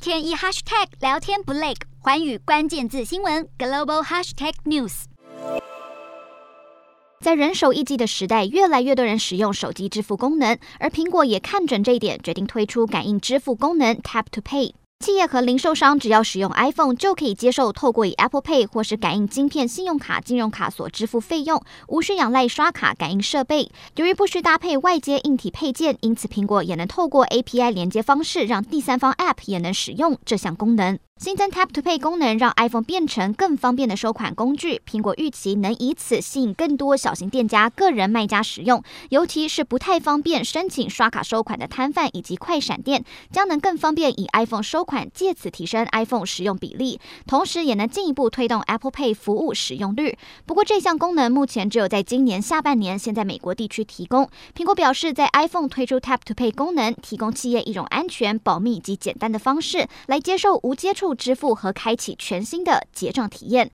天一 hashtag 聊天不累，寰宇關鍵字新聞 global hashtag news。在人手一機的時代，越來越多人使用手機支付功能，而蘋果也看準這一點，決定推出感應支付功能 Tap to Pay。企業和零售商只要使用 iPhone 就可以接受透過以 Apple Pay 或是感應晶片信用卡、金融卡所支付費用，無需仰賴刷卡感應設備。由於不需搭配外接硬體配件，因此蘋果也能透過 API 連接方式，讓第三方 App 也能使用這項功能。新增 Tap to Pay 功能讓 iPhone 變成更方便的收款工具，蘋果預期能以此吸引更多小型店家、個人賣家使用，尤其是不太方便申請刷卡收款的攤販以及快閃店，將能更方便以 iPhone 收款，借此提升 iPhone 使用比例，同時也能進一步推動 Apple Pay 服務使用率。不過這項功能目前只有在今年下半年先在美國地區提供。蘋果表示，在 iPhone 推出 Tap to Pay 功能，提供企業一種安全、保密以及簡單的方式來接受無接觸支付和開啟全新的結賬體驗。